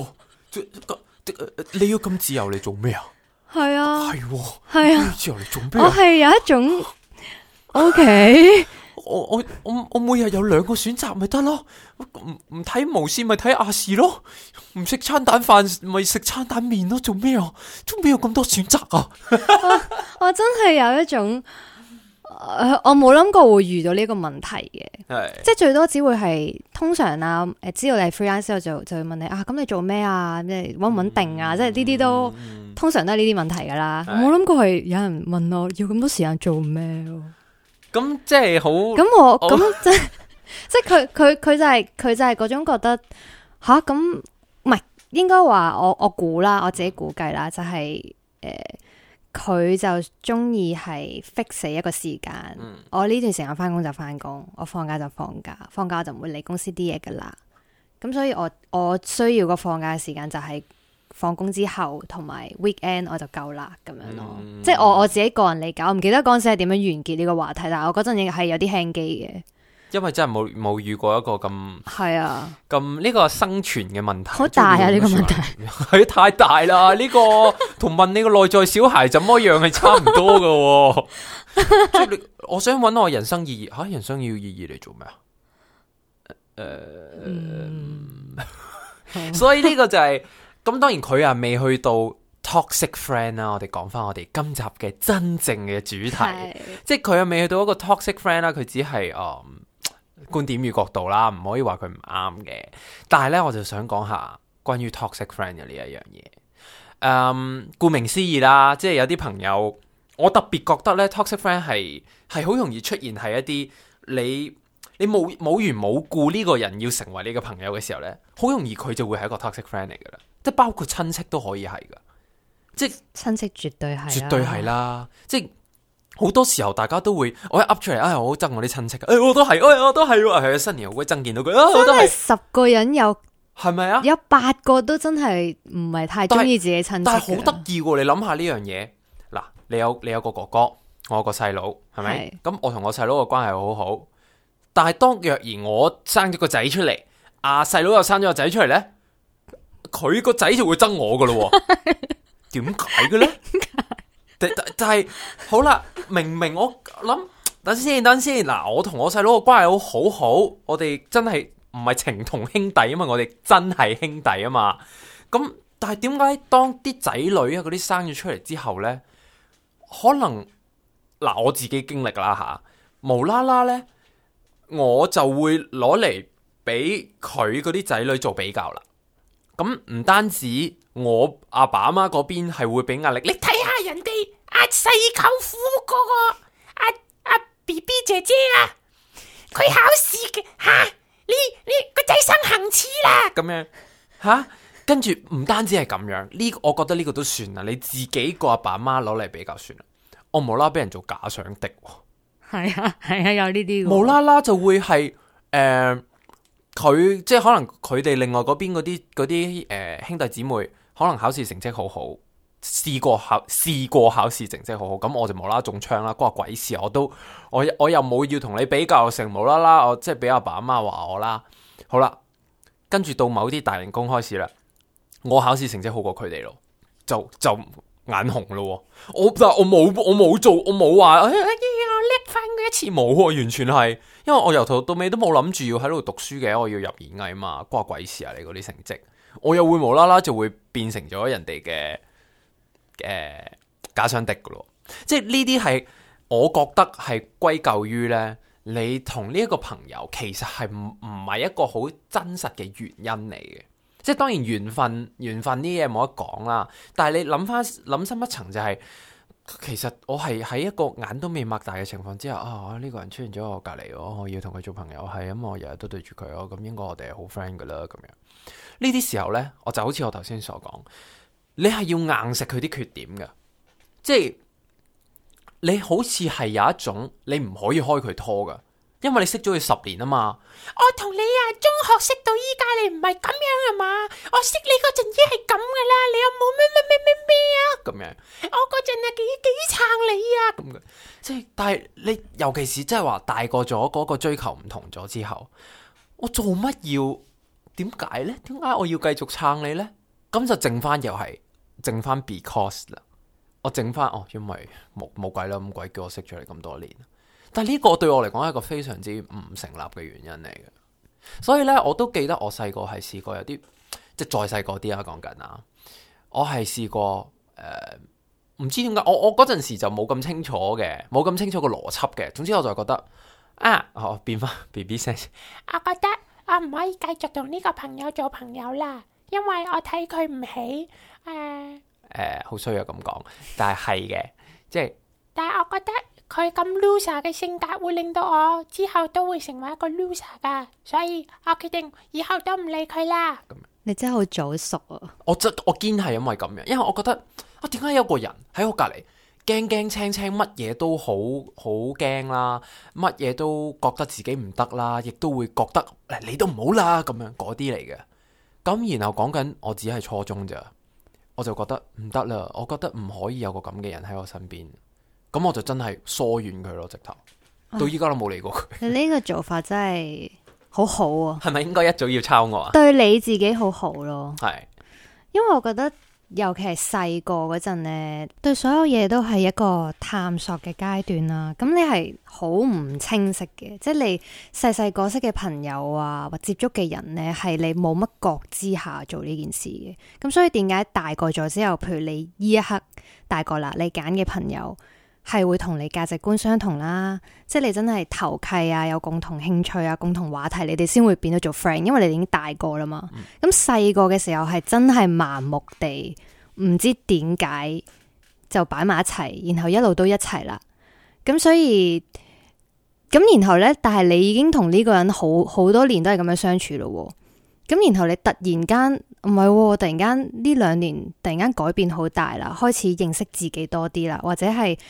你要咁自由嚟做咩啊？
係啊，
係啊，自由嚟做咩？
我係有一種 OK，
我每日有2個選擇咪得咯，唔睇無線咪睇亞視咯，唔食餐蛋飯咪食餐蛋麵咯，做咩啊？做咩有咁多選擇啊？
我真係有一種。我冇諗過會遇到呢個問題嘅，即係最多只會係通常啊，知道你係 freelance 之後就會問你咁你做咩啊？即係穩唔穩定啊？即係呢啲都通常都係呢啲問題噶啦。我冇諗過係有人問我要咁多時間做咩？
咁即係好
咁即係佢就係嗰種覺得咁唔係應該話我估啦，我自己估計啦，就係佢就中意係 fix 死一個時間，我呢段時間翻工就翻工，我放假就放假，放假我就唔會理公司啲嘢噶啦。咁所以我需要個放假嘅時間就係放工之後同埋 weekend 我就夠啦咁樣咯。即係我自己個人理解，我唔記得嗰陣時係點樣完結呢個話題，但係我嗰陣亦係有啲輕機嘅。因
為真係冇遇過一個咁咁呢個生存嘅問題，
好大啊！呢個問題
係太大啦！呢個同問你個內在小孩怎麼樣係差唔多噶。即係我想揾我人生意義，人生要意義嚟做咩啊？所以呢個就係咁，當然佢未去到 toxic friend 啦。我哋講翻我哋今集嘅真正嘅主題，即係佢未去到一個 toxic friend 啦，佢只係觀點與角度啦，唔可以話佢唔啱嘅。但係咧，我就想講下關於 toxic friend 嘅呢一樣嘢。顧名思義啦，即係有啲朋友，我特別覺得咧 toxic friend 係好容易出現喺一啲你冇緣冇故呢個人要成為你嘅朋友嘅時候咧，好容易佢就會係一個 toxic friend 嚟噶啦。即係包括親戚都可以係噶，即係
親戚絕對係，
絕對係啦。即係好多時候大家都會我一噏出嚟，我好憎我啲親戚，我都係，我都係，係新年好鬼憎見到佢，我都係。
真係10個人
係咪啊？
有8個都真係唔係太中意自己親戚嘅，
但係好得意喎！你諗下呢樣嘢，嗱，你有個哥哥，我有個細佬，係咪？咁我同我細佬嘅關係好好，但係當若然我生咗個仔出嚟，細佬又生咗個仔出嚟咧，佢個仔就會憎我噶咯，點解嘅咧？但係好啦，明我諗，等先，嗱，我同我細佬嘅關係好好，我哋真係唔係情同兄弟啊嘛，我哋真係兄弟啊嘛。咁但係點解當啲仔女啊嗰啲生咗出嚟之後呢？可能嗱我自己經歷啦吓，無啦啦呢，我就會攞嚟俾佢嗰啲仔女做比較啦。咁唔單止我阿爸阿媽嗰邊係會俾壓力，
你睇下人哋細舅父嗰個阿 BB 姐姐啊，佢考試嘅你個仔生恒齒啦，
咁樣吓，跟住唔單止係咁樣，我覺得呢個都算啦，你自己個阿爸阿媽攞嚟比較算啦。我無啦啦俾人做假想敵，
係啊有呢啲，
無啦啦就會係佢即係可能佢哋另外嗰邊嗰啲兄弟姊妹可能考試成績好好，試過考試成績好好，咁我就無啦啦中槍啦，關鬼事！我又冇要同你比較，成無啦啦我即係俾阿爸阿媽話我啦。好啦，跟住到某啲大型公開試啦，我考試成績好過佢哋咯，就眼紅咯。但係我冇做，我冇話我叻翻佢一次，冇喎，完全係，因為我由頭到尾都冇諗住要喺度讀書嘅，我要入演藝嘛，關鬼事啊！你嗰啲成績，我又會無啦啦就會變成咗人哋嘅假想敵噶咯。即係呢啲係我覺得係歸咎於呢，你同呢一個朋友其實係唔係一個好真實嘅原因嚟嘅。即係當然緣分呢啲嘢冇得講啦，但係你諗深一層就係、其實我係喺一個眼都未擘大嘅情況之下，呢個人出現咗我隔離，我要同佢做朋友，係咁我日日都對住佢，咁應該我哋係好 friend 噶啦。咁樣呢啲時候呢，我就好似我頭先所講，你係要硬食佢啲缺點嘅，即係你好似係有一種你唔可以開佢拖噶，因為你識咗佢10年啊嘛。
我同你中學識到依家，你唔係咁樣啊嘛？我識你嗰陣已經係咁噶啦，你有冇咩啊？
咁樣，
我嗰陣幾撐你啊！
咁嘅，即係但係你尤其是即係話大個咗，嗰個追求唔同咗之後，我做乜要？點解呢？點解我要繼續撐你呢？咁就剩翻because 啦。我剩翻因為冇鬼啦，咁鬼叫我識咗你咁多年。但係呢個對我嚟講係一個非常之唔成立嘅原因嚟嘅。所以呢，我都記得我細個係試過有啲，即係再細個啲啦，講緊啊，我係試過唔知點解，我嗰陣時就冇咁清楚嘅，冇咁清楚個邏輯嘅。總之我就覺得變翻 BB 聲。
我覺得我唔可以繼續同呢個朋友做朋友啦，因為我睇佢唔起。
好衰啊咁講，但係嘅，即係。
但係我覺得佢咁 loser 嘅性格會令到我之後都會成為一個 loser 噶，所以我決定以後都唔理佢啦。
你真係好早熟啊！
我堅係因為咁樣，因為我覺得點解有個人喺我隔籬驚驚青青，乜嘢都好驚啦，乜嘢都覺得自己唔得啦，亦都會覺得你都唔好啦咁樣嗰啲嚟嘅。咁然後講緊我只係初中咋，我就覺得唔得啦，我覺得唔可以有個咁嘅人喺我身邊。咁我就真係疏遠佢咯，直頭到依家都冇理過佢。
你呢個做法真係好好啊！
係咪應該一早要抄我啊？
對你自己好好咯，
係，
因為我覺得尤其係細個嗰陣呢，對所有嘢都係一個探索嘅階段啦。咁你係好唔清晰嘅，即係你細個識嘅朋友啊，或接觸嘅人呢，係你冇乜覺知下做呢件事嘅。咁所以點解大個咗之後，譬如你呢一刻大個啦，你揀嘅朋友係會同你價值觀相同啦，即係你真係投契啊，有共同興趣啊，共同話題，你哋先會變咗做 friend，因為你哋已經大個啦嘛。咁細個嘅時候係真係盲目地唔知點解就擺埋一齊，然後一路都一齊啦。咁所以咁然後呢，但係你已經同呢個人好多年都係咁樣相處咯。咁然後你突然間唔係，突然間呢2年突然間改變好大啦，開始認識自己多啲啦，或者係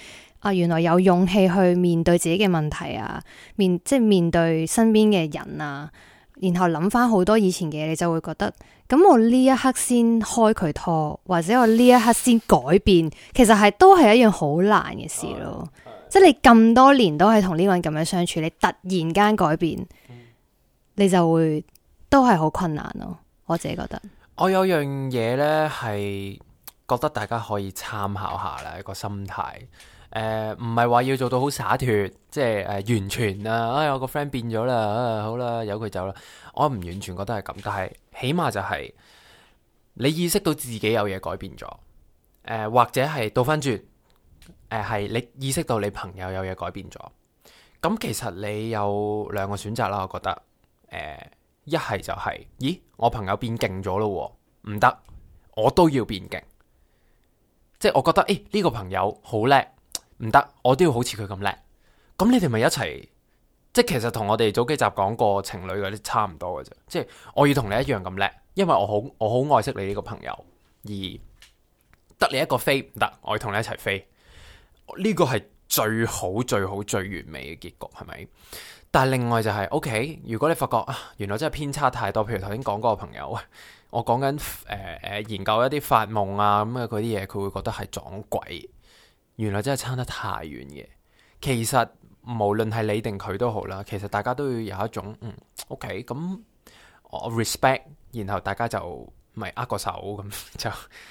原來有勇氣去面對自己嘅問題啊，即係面對身邊嘅人啊，然後諗翻好多以前嘅嘢，你就會覺得，咁我呢一刻先開佢拖，或者我呢一刻先改變，其實都係一樣好難嘅事咯。即係你咁多年都係同呢個人咁樣相處，你突然間改變，你就會都係好困難咯。我自己覺得，
我有樣嘢呢係覺得大家可以參考下啦，一個心態。唔係話要做到好灑脫，即係完全啊！我個 friend 變咗啦，好啦，由佢走啦。我唔完全覺得係咁，但係起碼就係你意識到自己有嘢改變咗，或者係倒翻轉，係你意識到你朋友有嘢改變咗。咁其實你有兩個選擇啦，我覺得，一係就係，咦，我朋友變勁咗咯，唔得，我都要變勁。即係我覺得，呢個朋友好叻。唔得，我都要好似佢咁叻。咁你哋咪一齊，即係其實同我哋早幾集講過情侶嗰啲差唔多嘅啫。即係我要同你一樣咁叻，因為我好愛惜你呢個朋友，而得你一個飛唔得，我要同你一齊飛。呢個係最好、最好、最完美嘅結局，係咪？但係另外就係，OK， 如果你發覺原來真係偏差太多，譬如頭先講嗰個朋友，我講緊研究一啲發夢啊咁嘅嗰啲嘢，佢會覺得係撞鬼。原來真係差得太遠嘅。其實無論係你定佢都好啦，其實大家都要有一種OK， 咁我 respect， 然後大家就咪握個手咁就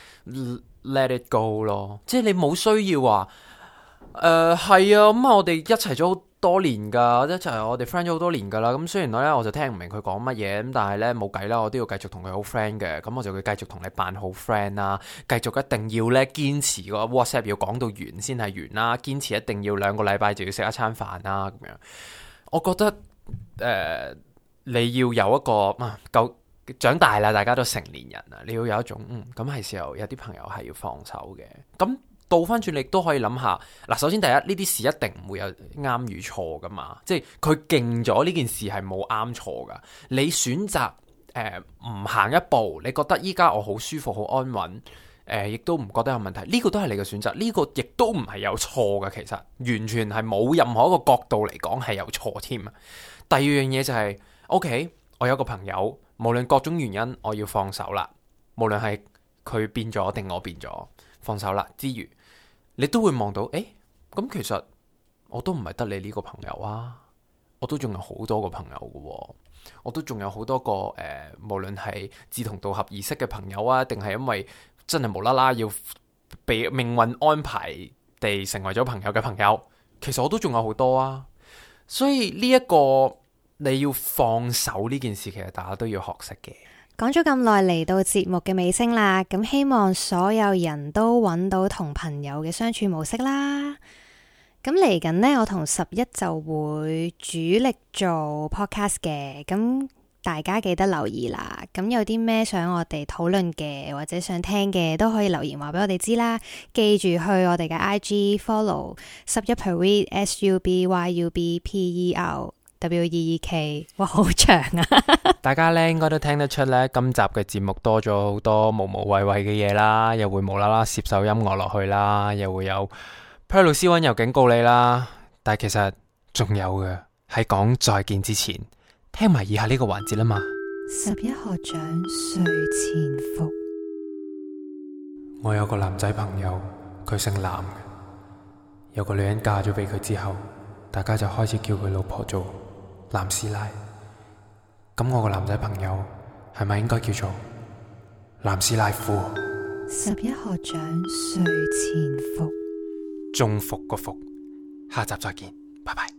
let it go 咯。即係你冇需要話係啊，咁我哋一齊咗好多年噶，一齊我哋 friend 咗好多年噶啦。咁雖然我就聽唔明佢講乜嘢，咁但係咧冇計啦，我都要繼續同佢好 friend 嘅。咁我就會繼續同你扮好 friend 啦，繼續一定要咧堅持個 WhatsApp 要講到完先係完啦，堅持一定要2個禮拜就要食一餐飯啦咁樣。我覺得你要有一個夠長大啦，大家都成年人啦，你要有一種咁係時候有啲朋友係要放手嘅。咁倒翻轉，你都可以諗下嗱。首先第一，呢啲事一定唔會有啱與錯噶嘛，即係佢勁咗呢件事係冇啱錯噶。你選擇唔行一步，你覺得依家我好舒服、好安穩，亦都唔覺得有問題，呢個都係你嘅選擇，呢個亦都唔係有錯噶。其實完全係冇任何一個角度嚟講係有錯添。第二樣嘢就係OK，我有個朋友，無論各種原因，我要放手啦。無論係佢變咗定我變咗，放手啦之餘，你都會望到，咁其實我都唔係得你呢個朋友啊，我都仲有好多個朋友㗎，我都仲有好多個無論係志同道合而識嘅朋友啊，定係因為真係無啦啦要被命運安排地成為咗朋友嘅朋友，其實我都仲有好多啊。所以呢一個你要放手呢件事，其實大家都要學識嘅。
講咗咁耐，嚟到節目嘅尾聲啦，咁希望所有人都揾到同朋友嘅相處模式啦。咁嚟緊呢，我同11就會主力做 podcast 嘅，咁大家記得留意啦。咁有啲咩想我哋討論嘅，或者想聽嘅，都可以留言話俾我哋知啦。記住去我哋嘅 IG follow 11per SUBYUBPER。哇，好長啊！
大家咧應該都聽得出咧，今集嘅節目多咗好多無無謂謂嘅嘢啦，又會無啦啦攝首音樂落去啦，又會有 Per 老師溫柔警告你啦。但係其實仲有嘅，喺講再見之前，聽埋以下呢個環節啦嘛。
11學長睡前服。
我有個男仔朋友，佢姓藍嘅，有個女人嫁咗俾佢之後，大家就開始叫佢老婆做藍師奶。咁我個男仔朋友係咪應該叫做藍師奶夫
？11學長睡前服。
中伏個伏，下集再見，拜拜。